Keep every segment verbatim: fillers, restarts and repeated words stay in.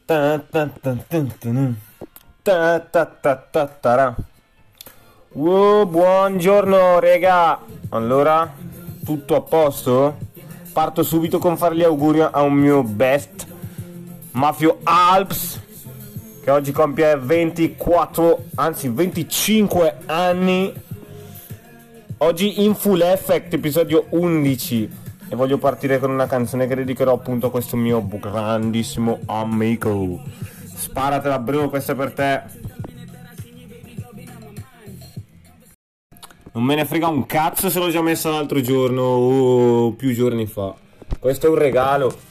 Ta ta ta ta ta ta ta ta ta ta. Oh, buongiorno rega. Allora, tutto a posto? Parto subito con fare gli auguri a un mio best Mafio Alps, che oggi compie ventiquattro, anzi venticinque anni. Oggi in Full Effect, episodio undici. E voglio partire con una canzone che dedicherò appunto a questo mio grandissimo amico. Sparatela bro, questa è per te. Non me ne frega un cazzo se l'ho già messa l'altro giorno o più giorni fa. Questo è un regalo.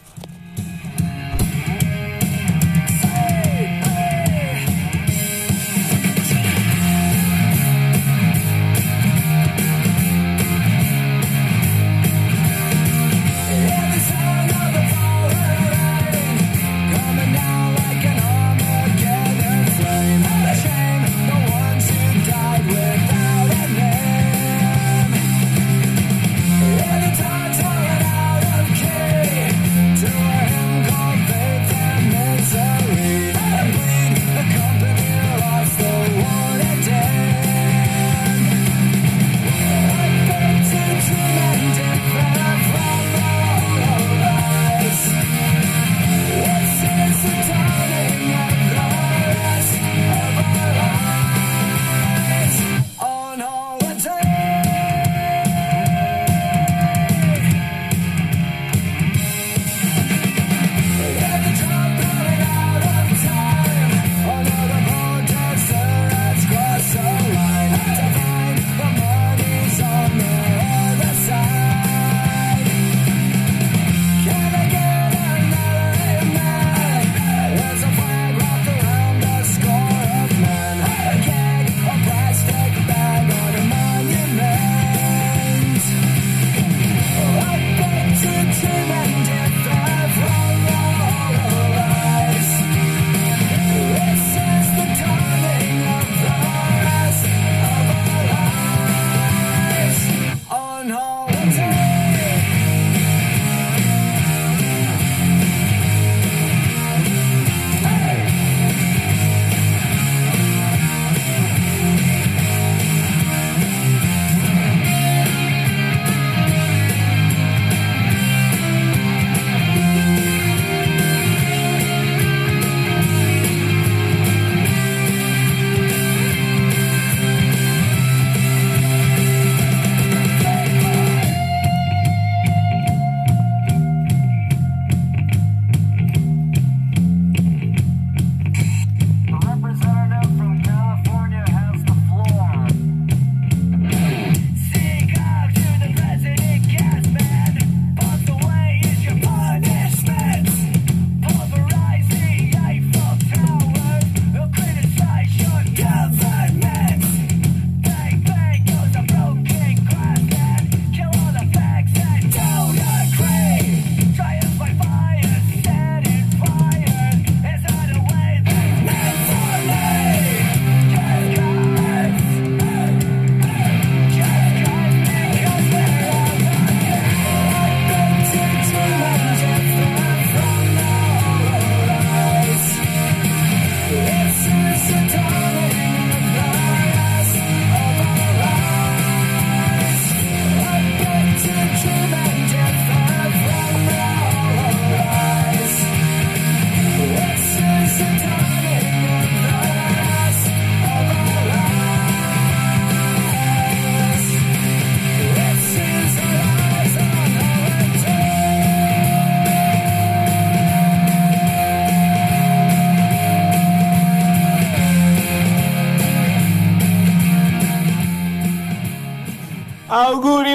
Auguri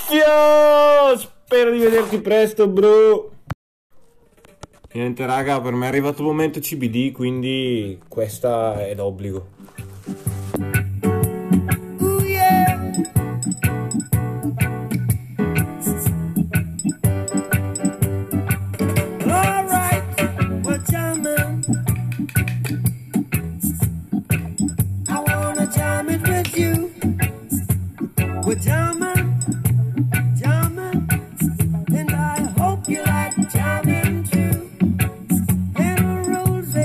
Mafio! Spero di vederti presto, bro. Niente raga, per me è arrivato il momento C B D, quindi questa è l'obbligo. Ooh, yeah. All right, we're jamming. I wanna jam it with you. We're jamming, jamming, and I hope you like jamming too. There are rules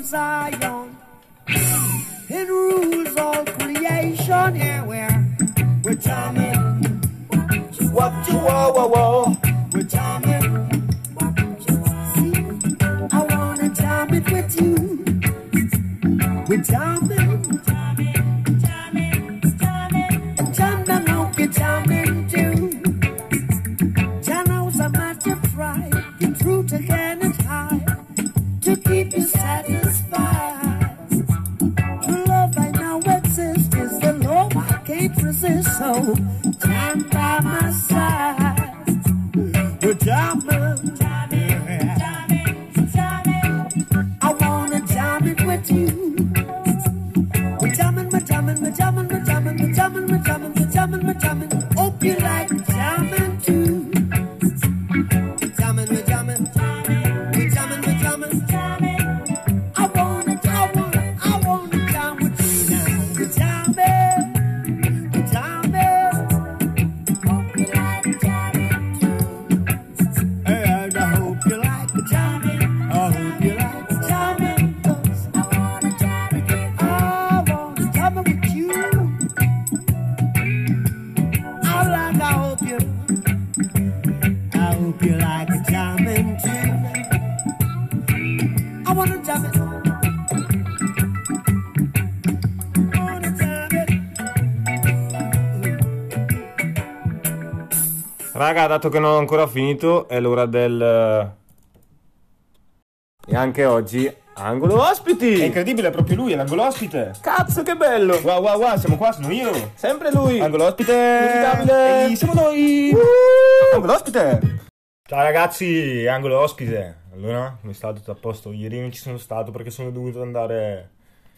Zion. It rules all creation. Yeah, we're, we're jamming. What you whoa, whoa, whoa. We're jamming. See, I wanna jam it with you. We're jamming. Jam them out, you're jamming too. Jano's a matter of pride. The truth again is high. To keep you satisfied. True love I know exists is the love I can't resist. So jam by my side. We're jamming, jamming, jamming, jamming. I wanna jam it with you. We're jamming, we're jamming, we're jamming, we're jamming, we're jamming, we're jamming, we're jamming, we're jamming. Hope you like jamming too. Jamming, we're jamming, we're jamming, we're jamming, jamming. I wanna, I wanna, I wanna jam with you now. We're jamming, we're jamming. Hope you like jamming too. And I hope you like jamming. I hope you like jamming. 'Cause I wanna jam with you. I wanna jam with you. I like, I hope you, I hope you like jamming too. I wanna jam it. I wanna jam it. Raga, dato che non ho ancora finito, è l'ora del... E anche oggi, angolo ospiti! È incredibile, è proprio lui, è l'angolo ospite. Cazzo, che bello! Wow, wow, wow, siamo qua, sono io. Sempre lui! Angolo ospite. Inevitabile. Ehi, siamo noi. Uh! Angolo ospite. Ciao ragazzi, angolo ospite. Allora, come sta? Tutto a posto? Ieri non ci sono stato perché sono dovuto andare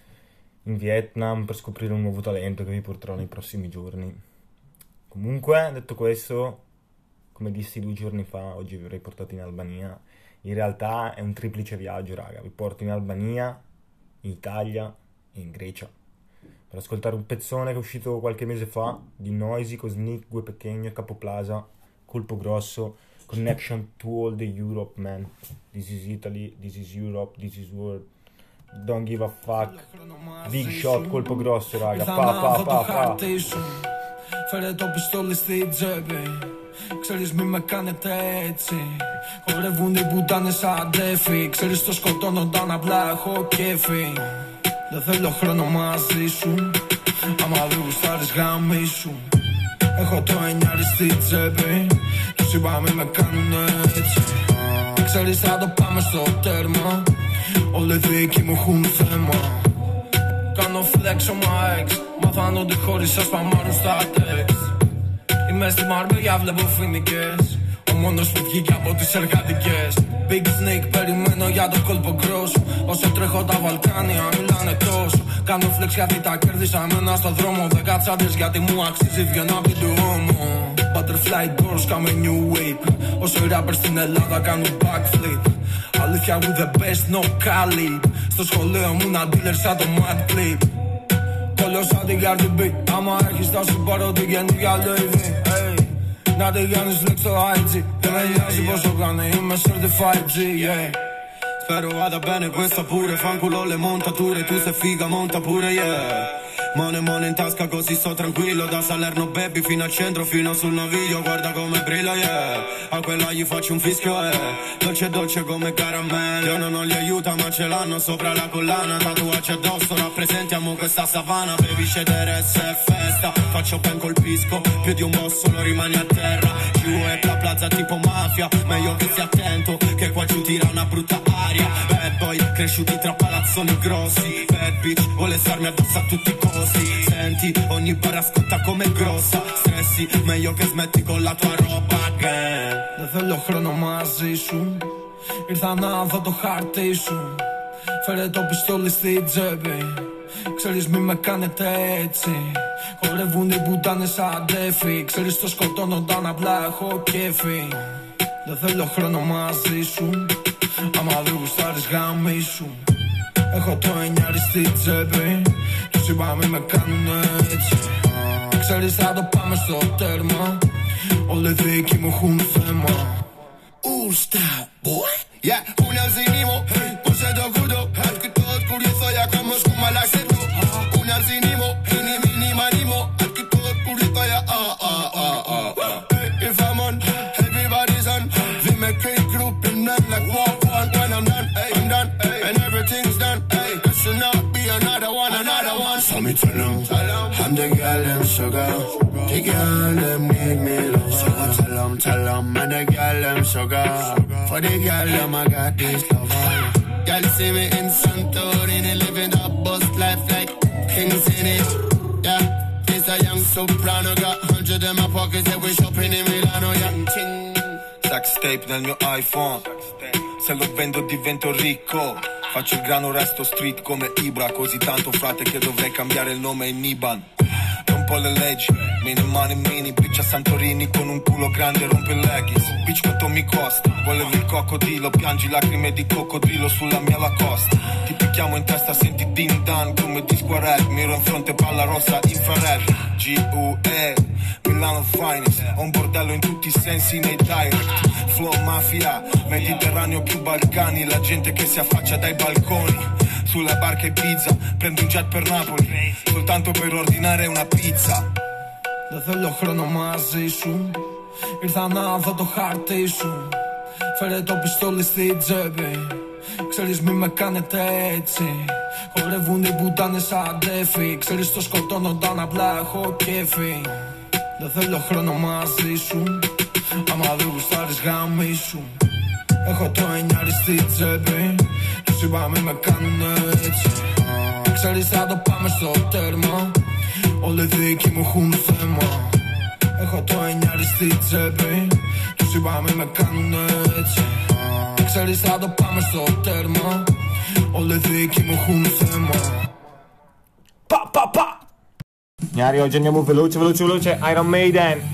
in Vietnam per scoprire un nuovo talento che vi porterò nei prossimi giorni. Comunque, detto questo, come dissi due giorni fa, oggi vi avrei portato in Albania. In realtà è un triplice viaggio, raga. Vi porto in Albania, in Italia e in Grecia per ascoltare un pezzone che è uscito qualche mese fa di Noisy, Cosnic, Gue Pequeno, Capoplaza, Colpo Grosso, Connection to all the Europe, man. This is Italy, this is Europe, this is world. Don't give a fuck. Big shot, Colpo Grosso, raga. Pa, pa, pa, pa. Φέρε το πιστόλι στη τσέπη. Ξέρεις μη με κάνετε έτσι. Χορεύουν οι πουτάνες σαν τέφι. Ξέρεις το σκοτώνονταν απλά έχω κέφι. Δεν θέλω χρόνο μαζί σου. Άμα δεν γουστάρεις γαμίσου. Έχω το εννιάρι στη τσέπη. Τους είπα μη με κάνουνε έτσι. Ξέρεις θα το πάμε στο τέρμα. Όλοι δικοί μου έχουν θέμα. Κάνω flex on my ex. Μάθαν ότι χώρισα σπαμάρουν στα text. Είμαι στη Μαρμπέγια, βλέπω φοινικές. Ο μόνος που βγήκε από τις εργατικές. Big Snake, περιμένω για το κόλπο grosso. Όσο τρέχω τα Βαλκάνια, μιλάνε τόσο. Κάνω flex γιατί τα κέρδισα μένα στο δρόμο. Δεν κατσάδες γιατί μου αξίζει, βγαίνω απ' την τουόμο. Butterfly doors, κάμε new wave. Όσο οι rappers στην Ελλάδα κάνουν backflip. Αλήθεια with the best, no Khalid. Στο σχολείο μου να dealer σαν το Mad Clip. Κόλλω σαν την Cardi B. Άμα έχεις θα σου πάρω την καινούργια Louis V. Να τη κάνεις flex στο άι τζι. Δεν με νοιάζει πόσο κάνει, είμαι certified G, yeah. Spero vada bene questa pure, fanculo le montature. Tu sei figa, monta pure, yeah. Mone mone in tasca così sto tranquillo. Da Salerno baby fino al centro, fino sul naviglio. Guarda come brilla, yeah. A quella gli faccio un fischio, eh. Dolce dolce come caramelle. Io non ho gli aiuta ma ce l'hanno sopra la collana. Tatuaggi addosso, rappresentiamo questa savana. Baby scederesse è festa. Faccio ben colpisco, più di un boss solo rimani a terra. Giù e la plaza tipo mafia. Meglio che stia attento, che qua giù tira una brutta aria. Bad boy, cresciuti tra palazzoni grossi. Bad bitch, vuole starmi addosso a tutti i costi. Senti, ogni barra scotta come grossa. Stressi, meglio che smetti con la tua roba again. Δεν θέλω χρόνο μαζί σου. Ήρθα να δω το χάρτη σου. Φέρε το πιστόλι στη τσέπη. Ξέρεις μη με κάνετε έτσι. Χορεύουν οι πουτάνες σαν τέφι. Ξέρεις το σκοτώνονταν απλά έχω κέφι. Δεν θέλω χρόνο μαζί σου. Άμα δεν γουστάρεις γαμίσου. Έχω το εννιάρι στη τσέπη. Τους είπα μη με κάνουνε έτσι. Ξέρεις θα το πάμε στο τέρμα. Όλοι δικοί μου έχουν θέμα. Ooh, stop, boy. Yeah, una zinimo, hey, puse do kudo, hey, que tot to not be another one, another one. So me tell them, I'm the girl them sugar. The girl them need me love. So I tell them, tell them, I'm the girl them sugar. For the girl them I got this love. Girl see me in Santorini, living up bust life like kings in it. Yeah. A young soprano, got hundred in my pockets e we shopping in Milano, young king. Saxtape nel mio iPhone, se lo vendo divento ricco. Faccio il grano, resto street come Ibra. Così tanto frate che dovrei cambiare il nome in Iban. Rompo le leggi, mini money mini. Bitch a Santorini con un culo grande, rompe il leggings. Bitch quanto mi costa, volevo il coccodrillo. Piangi lacrime di coccodrillo sulla mia Lacoste. Ti picchiamo in testa, senti din dan come disco rap. Miro in fronte, palla rossa, infrared. G U E, Milano Finest. Ho un bordello in tutti i sensi nei direct. Flow mafia, Mediterraneo più Balcani. La gente che si affaccia dai balconi. Sulla barca e pizza, prendo un jet per Napoli. Soltanto per ordinare una pizza. Δεν θέλω χρόνο μαζί σου. Ήρθα να δω το χάρτη σου. Φέρε το πιστόλι στη τσέπη. Ξέρεις μη με κάνετε έτσι. Χορεύουν οι μπουτάνες σαν ντέφι. Ξέρεις το σκοτώνονταν απλά έχω κέφι. Δεν θέλω χρόνο μαζί σου. Άμα δεν γουστάρεις γάμι σου. Έχω το εννιάρι στη τσέπη. Τους είπα μη με κάνουνε έτσι. Ξέρεις θα το πάμε στο τέρμα. Όλοι δικοί μου έχουν θέμα. Έχω το εννιάρι στη τσέπη. Τους είπα μη με κάνουνε έτσι. Ξέρεις θα το πάμε στο τέρμα. Όλοι δικοί μου έχουν θέμα. Pa pa pa! Gnari, oggi andiamo veloce, veloce, veloce. Iron Maiden.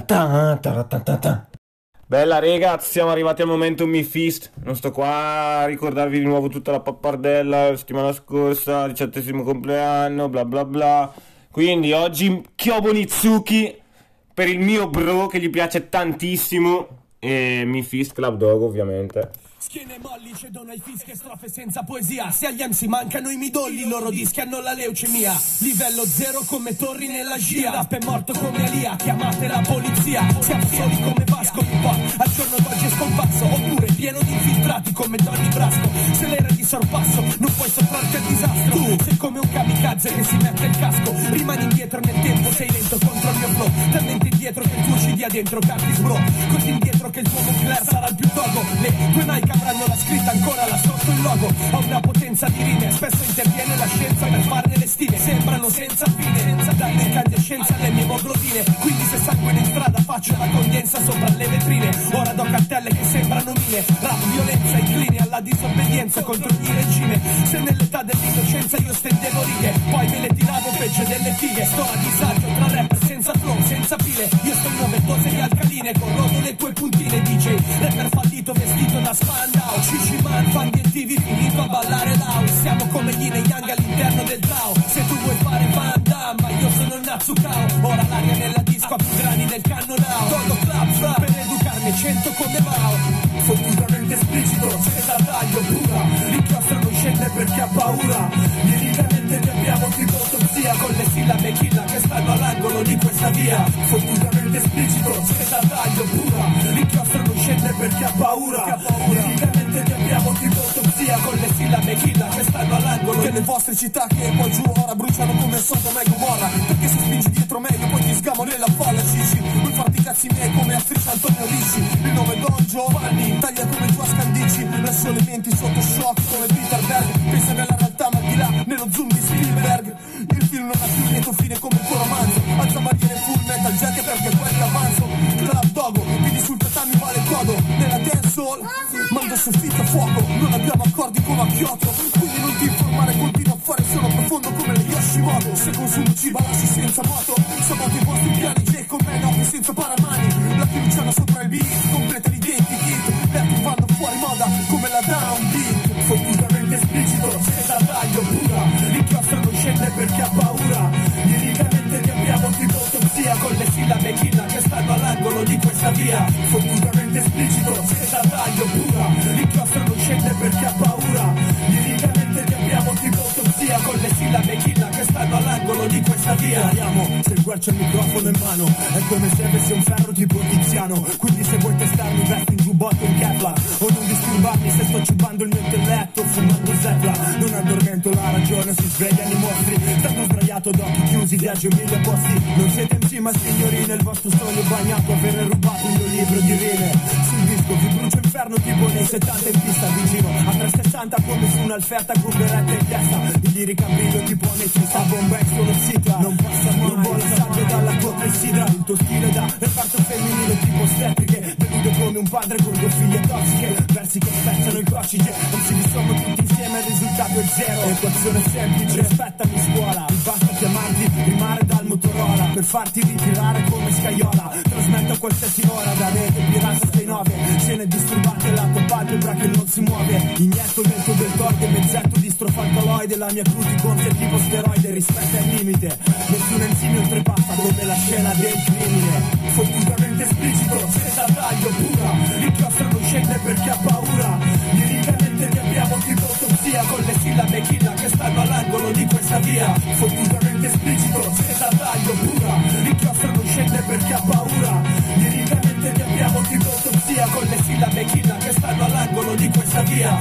ta ta ta ta ta. Bella ragazzi, siamo arrivati al momento Mi Fist. Non sto qua a ricordarvi di nuovo tutta la pappardella la settimana scorsa, diciottesimo compleanno, bla bla bla. Quindi oggi Kyobo Nizuki per il mio bro che gli piace tantissimo. E Mi Fist Club Dog ovviamente. Schiene molli, cedono ai fischi e strofe senza poesia. Se agli M C mancano i midolli, i loro dischi hanno la leucemia. Livello zero come torri nella scia. Rap è morto come Alia, chiamate la polizia. Siamo soli come Vasco di Po, al giorno d'oggi è scomparso. Oppure pieno di infiltrati come Donny Brasco. Se l'era di sorpasso, non puoi sottrarti al disastro. Tu sei come un kamikaze che si mette il casco. Rimani indietro nel tempo, sei lento contro il mio flow. Talmente indietro che il tuo C D ha dentro Curtis Bro. Così indietro che il tuo Moncler sarà il più togo. Le tue Nike avranno la scritta ancora là sotto il logo. Ho una potenza di rime, spesso interviene la scienza per farne le stime. Sembrano senza fine, senza dare incandescenza alle mie moglobine. Quindi se sanguine in strada faccio la condensa sopra le vetrine. Ora do cartelle che sembrano mine. Rap violenza incline alla disobbedienza contro ogni regime. Se nell'età dell'innocenza io stendevo righe, poi me le tiravo peggio delle fighe. Sto a disagio tra rapper senza flow, senza pile. Io sto in nove dose di alcaline, corrodo le tue puntine D J. Rapper fallito vestito da Spandau, Cici Man, fan di M T V finito a ballare l'house. Siamo come Yin e Yang all'interno del Tao. Se tu vuoi fare Van Damme, ma io sono Natsukao. Ora l'aria nella disco ha più grani del cannonao. Todo club fra per educarmi cento come Mao. Fottutamente esplicito, senza taglio pura. L'inchiostro non scende perché ha paura. Liricamente ne abbiamo tipo autopsia, con le sillabe killa che stanno all'angolo di questa via. Fottutamente esplicito, senza taglio pura. L'inchiostro non scende perché ha paura. Liricamente ne abbiamo tipo autopsia, con le sillabe killa che stanno all'angolo delle vostre città che poi giù ora bruciano come Sodoma e Gomorra. Perché se spingi dietro meglio poi ti sgamo nella folla, Cici. Vuoi farti i cazzi miei come attrice Antonio Ricci. Il nome Don Giovanni taglia come tua scandici. Lascio le menti sotto shock come Peter Berg. Pensa nella realtà ma di là nello zoom di Spielberg. Il film non ha più lieto fine come il tuo romanzo. Alza barriere full metal jacket perché quelli avanzo. Club Dogo, quindi sul tatami vale codo. Nella dancehall mando soffitto a fuoco. Non abbiamo accordi come a Kyoto, quindi non ti informare, continua a fare solo profondo come le Yoshimoto. Se consumo cibo lasci senza moto. Saboto i vostri piani J con me no senza paramani. La fiduciana sopra il beat, completa l'identikit. Le altri vanno fuori moda come la downbeat. Fottutamente esplicito, senza taglio pura. L'inchiostro non scende perché ha paura. Liricamente ne abbiamo tipo autopsia, con le sillabe killa che stanno all'angolo di questa via. Fottutamente esplicito, senza taglio pura. L'inchiostro non scende perché ha paura. Liricamente ne abbiamo tipo autopsia, con le sillabe killa che stanno all'angolo di questa via. Andiamo, se il guercio il microfono in mano, è come se avessi un ferro tipo Tiziano. Quindi se vuoi testarmi vesti in giubbotto in Kevlar, o non disturbarmi se sto cibando il mio intelletto fumando Zepla. Non addormento la ragione, si svegliano i mostri. Stanno sdraiato d'occhi chiusi, viaggio mille posti. Non siete M C ma signorine, il vostro sogno bagnato avere rubato il mio libro di rime. Sul disco vi brucio inferno tipo nei settanta in pista vicino a trecentosessanta come su un'alferta con beretta in testa. Il lirica brillo tipo ametista, bomba sono cicla. Non passa mai, non vola sabbia dalla cotta e sidra. Il tuo stile da reparto femminile tipo steppiche. Delude come un padre con due figlie tossiche. Versi che spezzano il cocige, non si disommo tutti insieme, il risultato è zero. Equazione semplice, rispettami scuola. Mi basta chiamarti, rimare dal Motorola per farti ritirare come scaiola. Trasmetto a qualsiasi ora da rete pirata sei nove. Scene disturbate, la tua palpebra che non si muove. Inietto il vento del torto, mezzetto di strofalcaloide. La mia cruticonza è tipo steroide, rispetta il limite. Nessun enzime oltrepassa come la scena del crimine. Fottutamente esplicito, senza taglio pura. L'inchiostro non scende perché ha paura. Liricamente ne abbiamo tipo autopsia, con le sillabe killa che stanno all'angolo di questa via. Fottutamente esplicito, senza taglio pura. L'inchiostro non scende perché ha paura. Liricamente ne abbiamo tipo autopsia, con le sillabe killa che stanno all'angolo di questa via.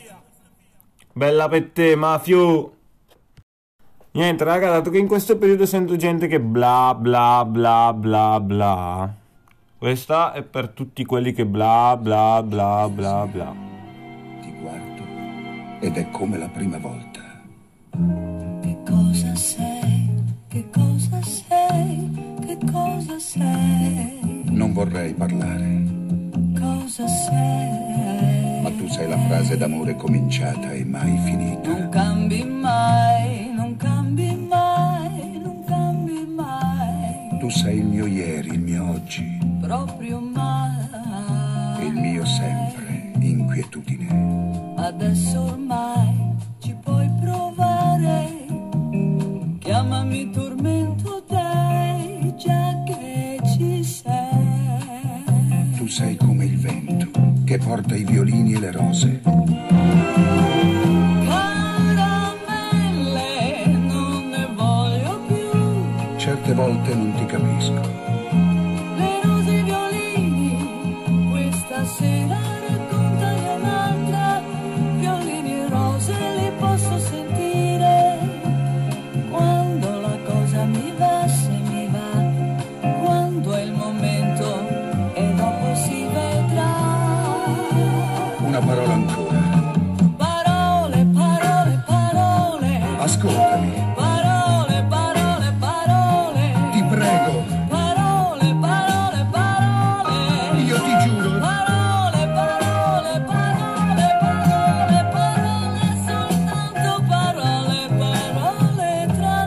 Bella per te, Mafio. Niente raga, dato che in questo periodo sento gente che bla bla bla bla bla, questa è per tutti quelli che bla bla bla bla bla. Ti guardo ed è come la prima volta. Che cosa sei? Che cosa sei? Che cosa sei? Non vorrei parlare, Cosa sei? ma tu sei la frase d'amore cominciata e mai finita. Non cambi mai, non cambi mai, non cambi mai. Tu sei il mio mio ieri, il mio oggi, proprio mai. il mio sempre, inquietudine. Adesso ormai ci puoi provare, chiamami tormento, dai, già che ci sei. Tu sei come il vento che porta i violini e le rose. Caramelle, non ne voglio più. Certe volte non ti capisco. Le rose e i violini, questa sera raccontami un'altra. Violini e rose li posso sentire quando la cosa mi va, se mi va, quando è il momento e dopo si vedrà. Una parola ancora. Parole, parole, parole. Ascoltami, Parole, parole, parole. ti prego. Parole, parole, parole. Io ti giuro. Parole, parole, parole, parole, parole, soltanto parole, parole tra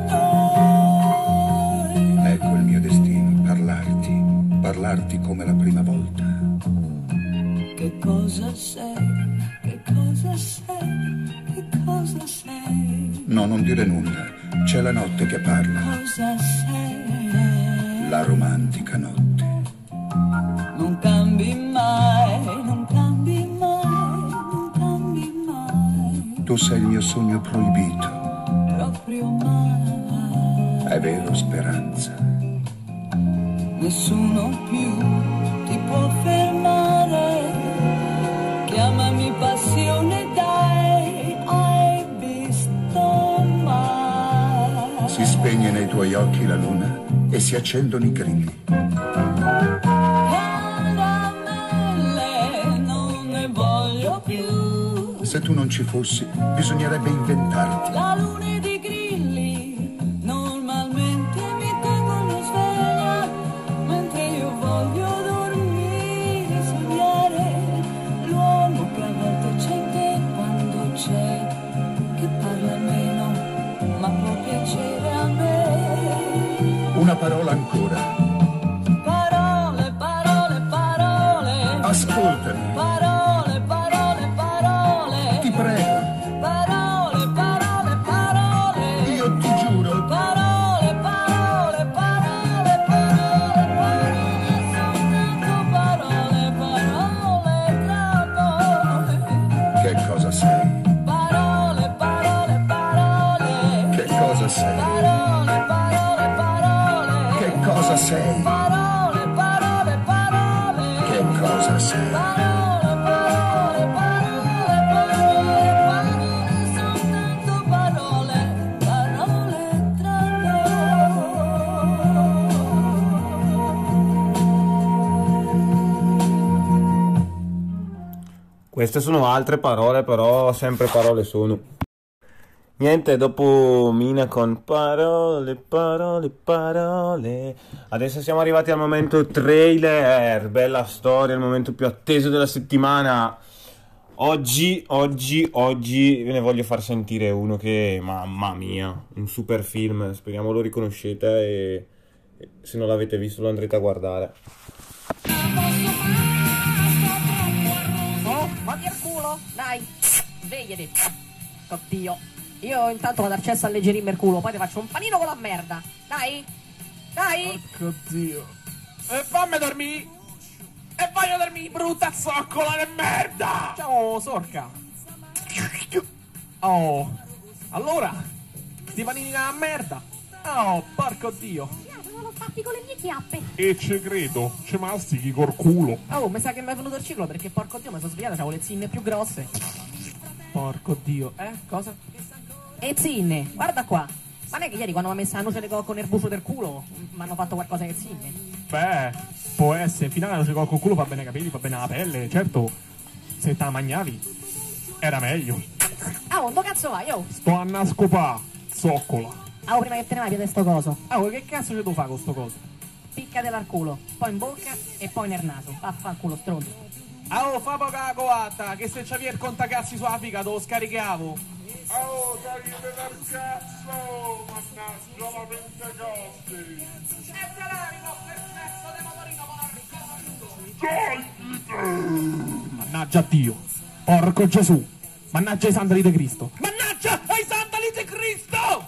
noi. Ecco il mio destino, parlarti, parlarti come la prima volta. Che cosa sei? Che cosa sei? Che cosa sei? No, non dire nulla, c'è la notte che parla, Cosa sei? la romantica notte. Non cambi mai, non cambi mai, non cambi mai, Tu sei il mio sogno proibito, proprio mai. è vero, speranza. Nessuno più ti può fermare, chiamami passione, dai, hai visto mai. Si spegne nei tuoi occhi la luna e si accendono i grilli. Caramelle, non ne voglio più. Se tu non ci fossi, bisognerebbe inventarti. La luna ed i grilli normalmente mi tengono sveglia, mentre io voglio dormire, sognare l'uomo che a volte c'è in te quando c'è, che parla meno ma può piacere a me. Una parola ancora. Parole, parole, parole. Ascoltami, Parole, parole, parole. ti prego. Parole, parole, parole. Io ti giuro. Parole, parole, parole, parole, parole, soltanto parole, parole tra noi. Che cosa sei? Parole, parole, parole. Che cosa sei? Parole, parole, parole. Che cosa sei? Parole, parole, parole. Che cosa sei? Parole, parole, parole, parole, parole, soltanto parole, parole tra noi. Queste sono altre parole, però sempre parole sono. Niente, dopo Mina con parole, parole, parole. Adesso siamo arrivati al momento trailer. Bella storia, il momento più atteso della settimana. Oggi, oggi, oggi ve ne voglio far sentire uno che, mamma mia, un super film. Speriamo lo riconoscete e e se non l'avete visto lo andrete a guardare. Oh, fatti al culo, dai, svegliati. Oddio, io intanto vado al cesso a alleggerirmi il culo, poi ti faccio un panino con la merda. Dai, dai. Porco Dio. E fammi dormire. E voglio dormire, brutta zoccola di merda. Ciao, sorca. Oh, allora, ti panini la merda. Oh, porco Dio. Non lo fatti con le mie chiappe. E ci credo, ci mastichi col culo. Oh, mi sa che mi è venuto il ciclo perché porco Dio mi sono svegliato, c'avevo le zinne più grosse. Porco Dio. Eh, cosa? E zinne, guarda qua. Ma non è che ieri quando mi ha messo la noce di cocco nel bucio del culo mi hanno fatto qualcosa che zinne? Beh, può essere, finale la noce col culo fa bene i capelli, fa bene la pelle, certo. Se te la mangiavi, era meglio. Ah, oh, dove cazzo vai, oh? Sto a nascopà, zoccola. Ah, oh, prima che te ne vai via sto coso. Ah, oh, che cazzo ci devo fare con sto coso? Piccatela al culo, poi in bocca e poi nel naso. Vaffanculo stronzo. Ah, oh, fa poca coatta, che se c'avevi il contacazzi sulla figa te lo scaricavo. Oh, toglimi dal cazzo! Mannaggia la pentecoste! E te l'animo per sesso di motorino Togliti! Mannaggia Dio. Porco Gesù. Mannaggia i sandali di Cristo. Mannaggia ai sandali di Cristo!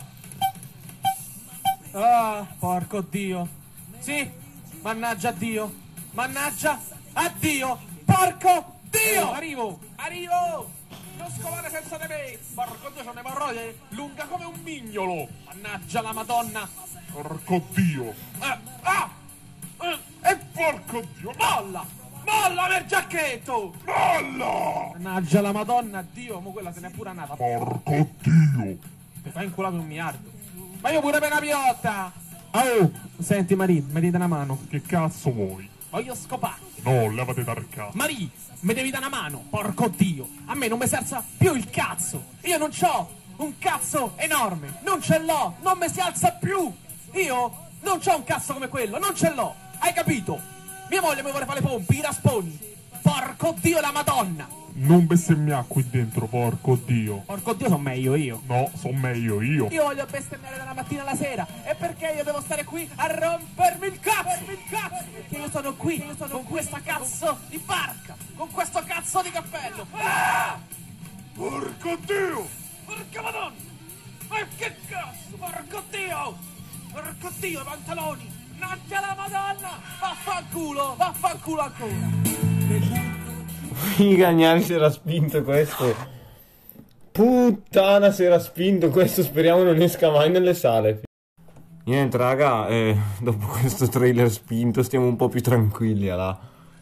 Ah, porco Dio. Sì, mannaggia Dio. Mannaggia a Dio. Porco Dio. Eh, arrivo, arrivo! Non scovare senza di me! Porco Dio, c'ho un'emorroide lunga come un mignolo! Mannaggia la Madonna. Porco Dio! Eh, ah! Eh, e porco Dio, molla! Molla per giacchetto! Molla! Mannaggia la Madonna, Dio, mo quella se n'è pure andata. Porco Dio! Ti fai inculato un miliardo. Ma io pure per una piotta! Oh, senti Marie, mi dite una mano. Che cazzo vuoi? Voglio scopare. No, levate dal cazzo. Marie, mi devi dare una mano, porco Dio. A me non mi si alza più il cazzo. Io non c'ho un cazzo enorme. Non ce l'ho, non mi si alza più. Io non c'ho un cazzo come quello, non ce l'ho. Hai capito? Mia moglie mi vuole fare le pompe, i rasponi. Porco Dio la Madonna. Non bestemmiare qui dentro, porco Dio. Porco Dio, sono meglio io. No, sono meglio io. Io voglio bestemmiare dalla mattina alla sera. E perché io devo stare qui a rompermi il cazzo? il cazzo? Perché io sono qui, io sono con questa cazzo di barca, con questo cazzo di cappello. Ah! Porco Dio! Porca Madonna! Ma che cazzo? Porco Dio! Porco Dio, i pantaloni! Naccia la Madonna! Vaffanculo! Vaffanculo ancora! Figa, Gnani si era spinto questo. Puttana, si era spinto questo. Speriamo non esca mai nelle sale. Niente raga, eh, dopo questo trailer spinto stiamo un po' più tranquilli là.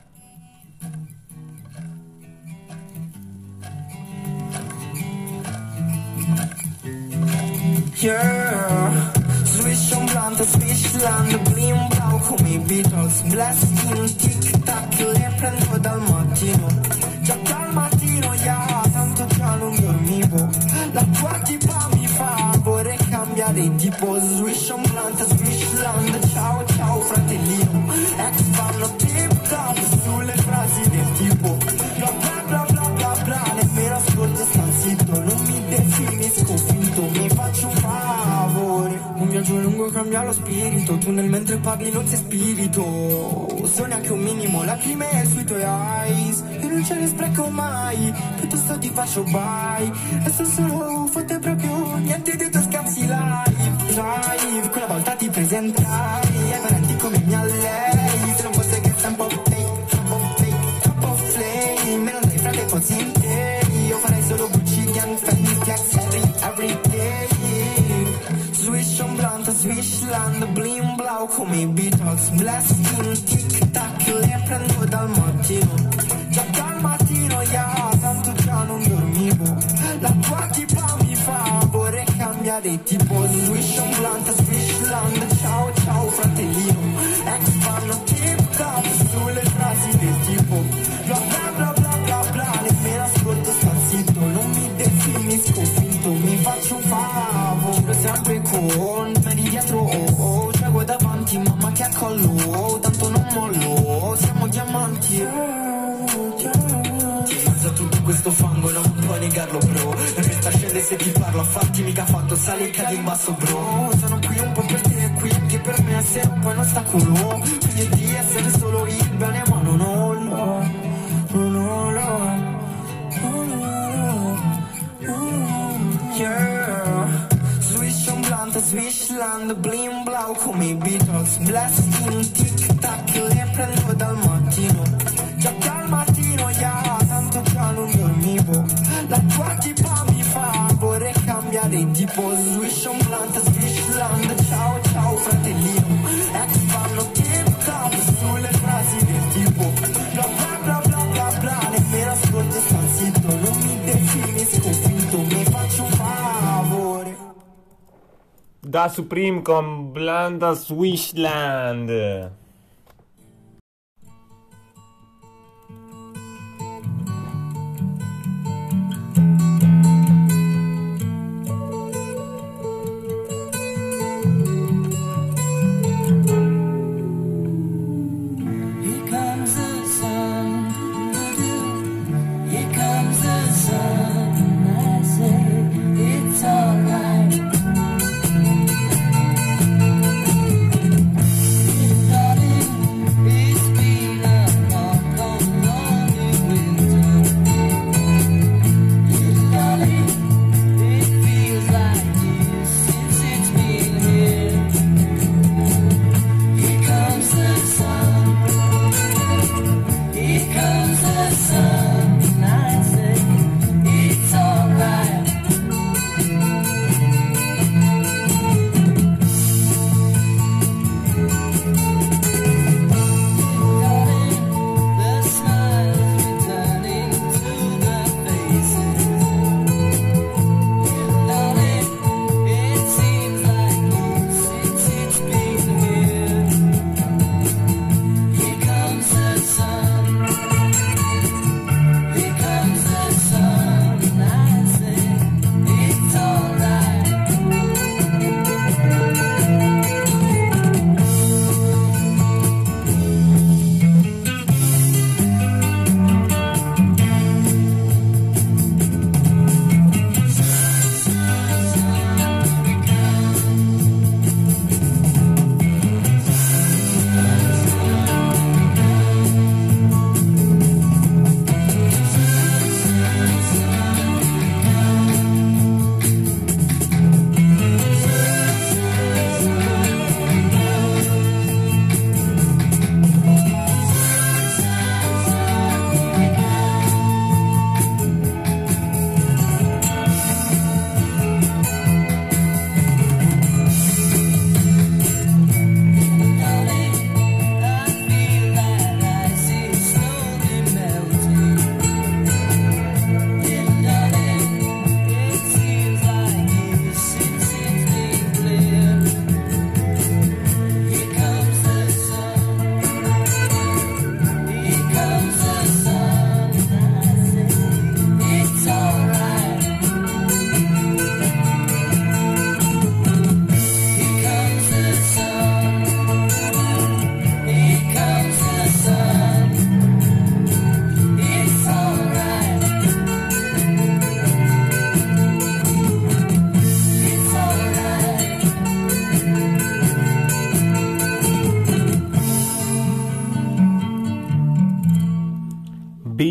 Yeah, swish un blunt, swishland, blim blau come i Beatles, blasting, tic tac, le prendo dal mattino, già dal mattino, yeah, tanto già non dormivo, la tua tipa mi fa, vorrei cambiare tipo, swish un blunt, swishland, ciao ciao fratellino, ex fanno tip top sulle frasi del tipo, bla bla bla bla bla bla, nemmeno ascolto sta zitto, non mi definisco finto, mi faccio un favore, un viaggio lungo cambia lo spirito, tu nel mentre parli non sei spirito, so neanche un minimo lacrime sui tuoi eyes, io non ce ne spreco mai, piuttosto ti faccio bye, e sono solo fotte proprio niente dei tuoi scazzi live, live, quella volta ti presentai, ai parenti come mia lei, se non fosse che sei un po' fake, un po' fake, un po' flame, me non dai frate così interi, io farei solo Gucci, Gang, Fendi, Flex, every, every day. Swish un blunt, swishland, blim blau come i Beatles, blasting, tic tac, le prendo dal mattino, già dal mattino, yeah, tanto già non dormivo, la tua tipa mi fa, vorrei cambiare tipo, swish un blunt, swishland, ciao ciao fratellino, ex fanno tip top sulle frasi del tipo, bla bla bla bla bla bla, nemmeno ascolto sta zitto, non mi definisco finto, mi faccio un favore, sempre con me di dietro, oh, oh, cieco davanti, mamma che accollo, tanto non mollo, siamo diamanti, ti mezzo a tutto questo fango, non puoi negarlo bro, resta scende se ti parlo, a farti mica fatto, sali e cadi in basso bro, sono qui un po' per te e qui anche per me, essere un po' un ostacolo, quindi di essere solo il bene ma non ho no, non ho no. Yeah, swish un blunt, swishland, blim blau come i Beatles, blasting, tic tac, le prendo dal mattino, già dal mattino, yeah, tanto già non dormivo, la tua tipa mi fa, vorrei cambiare tipo, swish un blunt, swishland, ciao ciao fratellino, ex fanno tip top sulle frasi del tipo, bla bla bla bla bla bla, nemmeno ascolto sta zitto, non mi definisco finto, mi faccio un favore. Da Supreme con Blanda Swishland. Here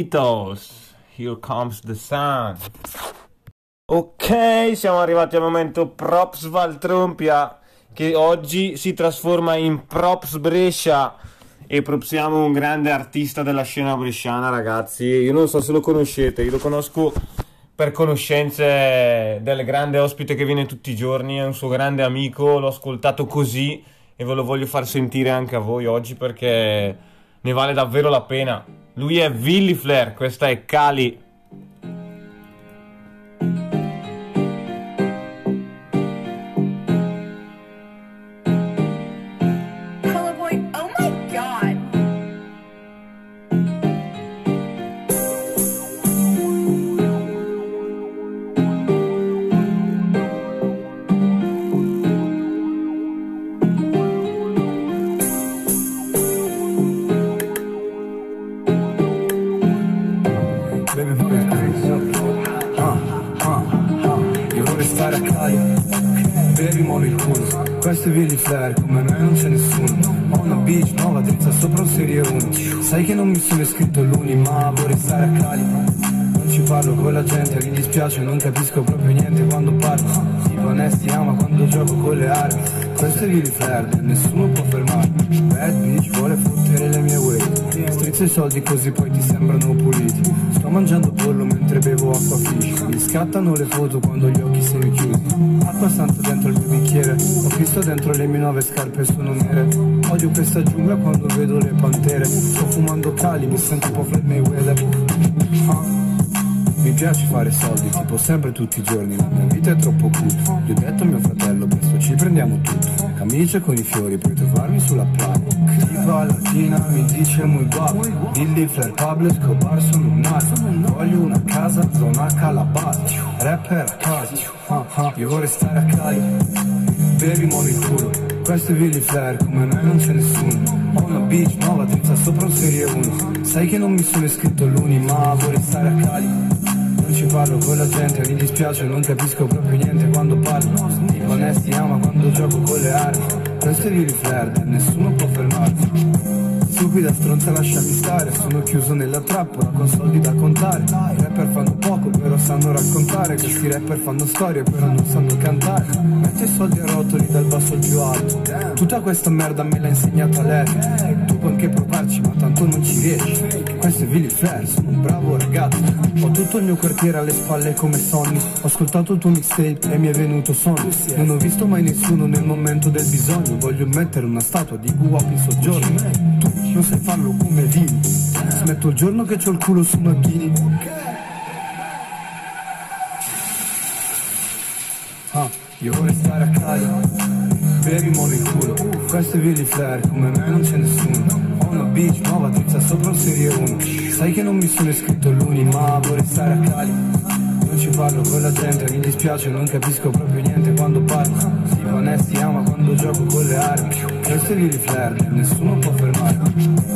Beatles, Here Comes the Sun. Ok, siamo arrivati al momento Props Valtrompia, che oggi si trasforma in Props Brescia, e propsiamo un grande artista della scena bresciana, ragazzi. Io non so se lo conoscete, io lo conosco per conoscenze del grande ospite che viene tutti i giorni, è un suo grande amico, l'ho ascoltato così e ve lo voglio far sentire anche a voi oggi perché ne vale davvero la pena. Lui è Willy Flair, questa è Cali. Questo è Willy Flair, come me non c'è nessuno. Ho una beach nuova drizza sopra un serie uno. Sai che non mi sono iscritto all'uni, ma vorrei stare a Cali. Non ci parlo con la gente, mi dispiace, non capisco proprio niente quando parlo. Tipo onesti ama quando gioco con le armi. Questo è Willy Flair, nessuno può fermarmi. Bad bitch vuole fottere le mie wave. Strizzo i soldi così poi ti sembrano puliti. Sto mangiando pollo mentre bevo acqua fish. Mi scattano le foto quando gli occhi sono chiusi. Acqua santa dentro il mio bicchiere. Ho visto dentro le mie nuove scarpe sono nere. Odio questa giungla quando vedo le pantere. Sto fumando Cali, mi sento un po' Floyd Mayweather. Ah. Mi piace fare soldi, tipo sempre tutti i giorni. La mia vita è troppo cuta. Gli ho detto a mio fratello, presto ci prendiamo tutto. Camicie con i fiori, puoi trovarmi sulla playa. Tipa latina mi dice muy guapo. Willy Flair, Pablo Escobar sono un nato. Voglio una casa, zona Calabascio. Rapper a casa, ah, ah. Io vorrei stare a Cali. Baby muovi il culo. Questo è Willy Flair, come me non c'è nessuno. Ho una beach nuova drizza sopra un serie uno. Sai che non mi sono iscritto all'uni, ma vorrei stare a Cali. Non ci parlo con la gente, mi dispiace, non capisco proprio niente quando parlo. Tipo onesti ama quando gioco con le armi. Questo è Willy Flair, nessuno può fermarmi. Stupida stronza lasciami stare, sono chiuso nella trappola con soldi da contare. I rapper fanno poco però sanno raccontare. Questi rapper fanno storie però non sanno cantare. Metti i soldi a rotoli dal basso al più alto. Tutta questa merda me l'ha insegnata lei. Tu puoi anche provarci ma tanto non ci riesci. Questo è Willy Flair, sono un bravo ragazzo. Ho tutto il mio quartiere alle spalle come Sonny. Ho ascoltato il tuo mixtape e mi è venuto sonno. Non ho visto mai nessuno nel momento del bisogno. Voglio mettere una statua di Guap in soggiorno. Tu non sai farlo come Vini. Smetto il giorno che c'ho il culo su macchini. Ah, io vorrei stare a Cali. Baby muovi il culo. Questo è Willy Flair, come me non c'è nessuno. Ho una beach nuova drizza sopra un serie uno. Sai che non mi sono iscritto all'uni, ma vorrei stare a Cali. Non ci parlo con la gente, mi dispiace, non capisco proprio niente quando parlo. Tipo onesti ama quando gioco con le armi. Questo è Willy Flair, nessuno può fermarmi.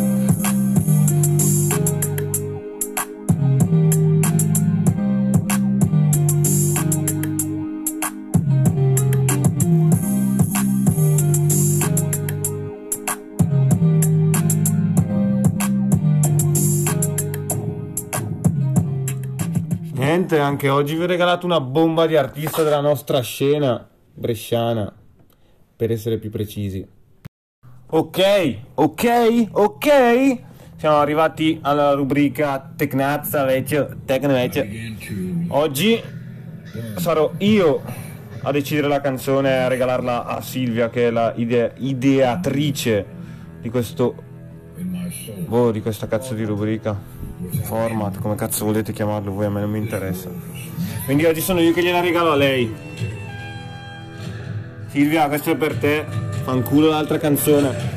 Niente, anche oggi vi ho regalato una bomba di artista della nostra scena bresciana, per essere più precisi. Ok, ok, ok. Siamo arrivati alla rubrica Tecnazza vecchio, Tecno vecchio. Oggi sarò io a decidere la canzone e a regalarla a Silvia, che è la ide- ideatrice di questo boh, di questa cazzo di rubrica. Format, come cazzo volete chiamarlo voi, a me non mi interessa. Quindi oggi sono io che gliela regalo a lei. Silvia, questo è per te. Fanculo l'altra canzone.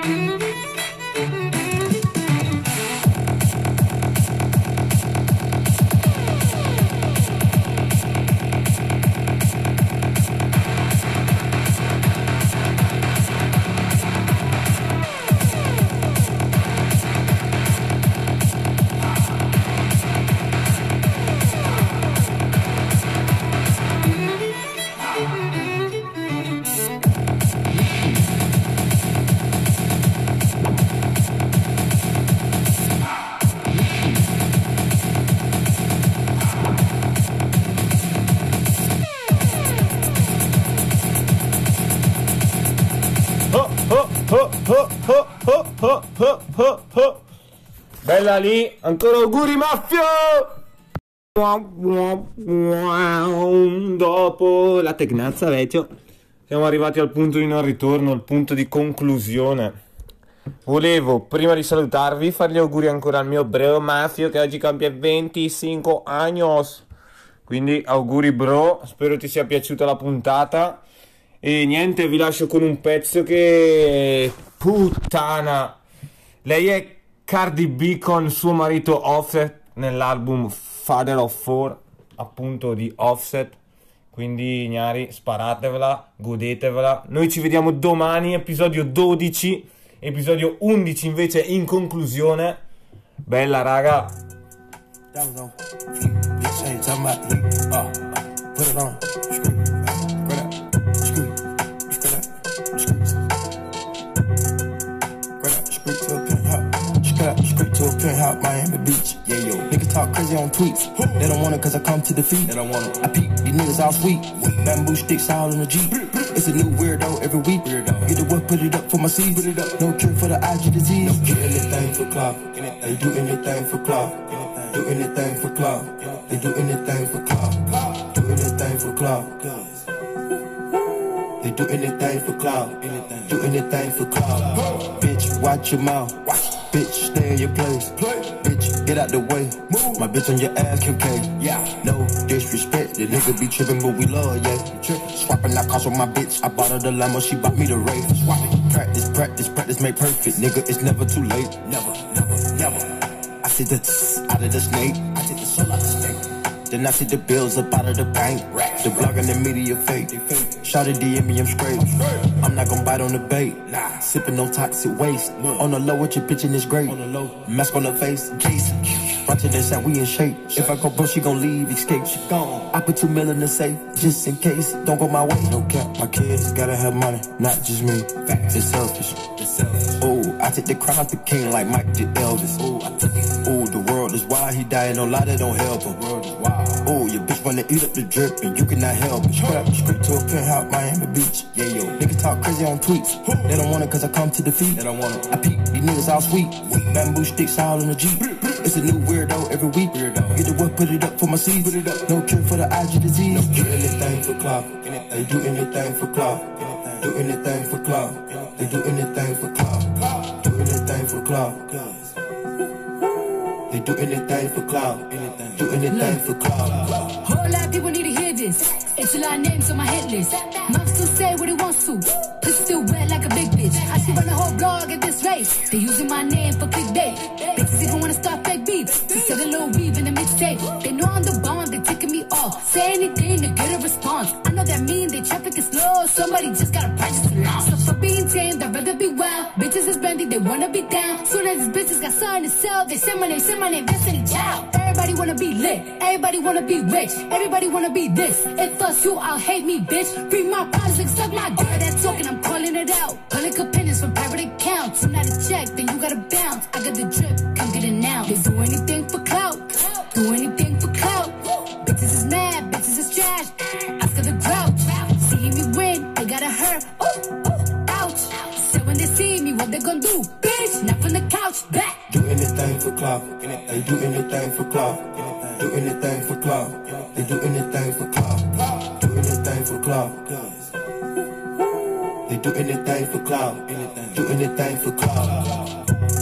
Bella lì, ancora auguri Maffio! Dopo la tegnazza vecchio siamo arrivati al punto di non ritorno, al punto di conclusione. Volevo, prima di salutarvi, fare gli auguri ancora al mio bro Maffio che oggi compie venticinque anni. Quindi auguri bro, spero ti sia piaciuta la puntata. E niente, vi lascio con un pezzo che... puttana! Lei è Cardi B con suo marito Offset nell'album Father of Four, appunto di Offset. Quindi gnari, sparatevela, godetevela. Noi ci vediamo domani, episodio dodici. Episodio undici invece in conclusione. Bella raga. Straight to a penthouse, Miami Beach. Yeah, yo. Niggas talk crazy on tweets. They don't want it cause I come to defeat. They don't want it. I peep, these niggas all sweet. Bamboo sticks all in the Jeep. It's a new weirdo every week. Weirdo. Get the work, put it up for my seeds. Put it up. No cure for the I G disease. No do anything for clout. They do anything for clout. Do anything for clout. They do anything for clout. Do anything for clout. They do anything for clout. Do anything for clout. Bitch, watch your mouth. Bitch, stay in your place. Bitch, get out the way. Move. My bitch on your ass, Kim K. Yeah. No disrespect. The nigga be tripping, but we love, yeah. Swapping out cars with my bitch. I bought her the limo, she bought me the Wraith. Swapping. Practice, practice, practice make perfect. Nigga, it's never too late. Never, never, never. I see the tss out of the snake. I take the soul out the snake. Then I see the bills up out of the bank. The blog and the media fake. Shout at D M me, I'm straight. I'm not gon' bite on the bait. Nah. Sipping no toxic waste. On the low with your bitch and it's great. On the low. Mask on the face. Jason. Roger this out, we in shape. If I go broke, she gon' leave, escape. She gone. I put two mil in the safe. Just in case. Don't go my way. No cap. My kids gotta have money. Not just me. Facts. It's selfish. It's selfish. Ooh, I take the crown off the king like Mike did Elvis. Ooh, I took it. Ooh, the world is wild. He dying. No lie, that don't help him. The world is wild. Ooh, your bitch wanna eat up the drip and you cannot help it. Straight up, straight to a penthouse, Miami Beach. Yeah, yo. Niggas talk crazy on tweets. They don't want it cause I come to defeat. They don't want it. I peep, these niggas all sweet. Bamboo sticks all in the Jeep. It's a new weirdo every week. Weirdo. Get the work, put it up for my seeds. Put it up. No cure for the I G disease. No do anything for clout. They do anything for clout. Do anything for clout. They do anything for clout. Do anything for clout. They do anything for clout. Do anything for clout. Whole lot of people need to hear this. It's a lot of names on my hit list. Mom still say what he wants to. Pussy still wet like a big bitch. I should run a whole blog at this rate. They using my name for clickbait. Bitches even wanna start fake beef. To sell a little weave in the mixtape. They know I'm the bomb, they taking me off. Say anything to get a response. I know that mean they traffic is slow. Somebody just gotta purchase the law. So for being tamed, I'd rather be wild. Bitches is brandy, they wanna be down. Soon as these bitches got something to sell, they say my name, say my name, Destiny Child. Everybody wanna be lit, everybody wanna be rich, everybody wanna be this. If us you, I'll hate me, bitch. Free my products and suck my dick. That talking, I'm calling it out. Public opinions from private accounts. I'm not a check, then you gotta bounce. I got the drip, come get it now. They do anything for clout, do anything for clout. Bitches is mad, bitches is trash. After the drought, seeing me win, they gotta hurt. Ooh, ooh, ouch. So when they see me, what they gonna do? Bitch, not from the couch, back. Do anything for clout. They do anything for clout. Do anything for clout. They do anything for clout. Do anything for clout. They do anything for clout. Do anything for clout.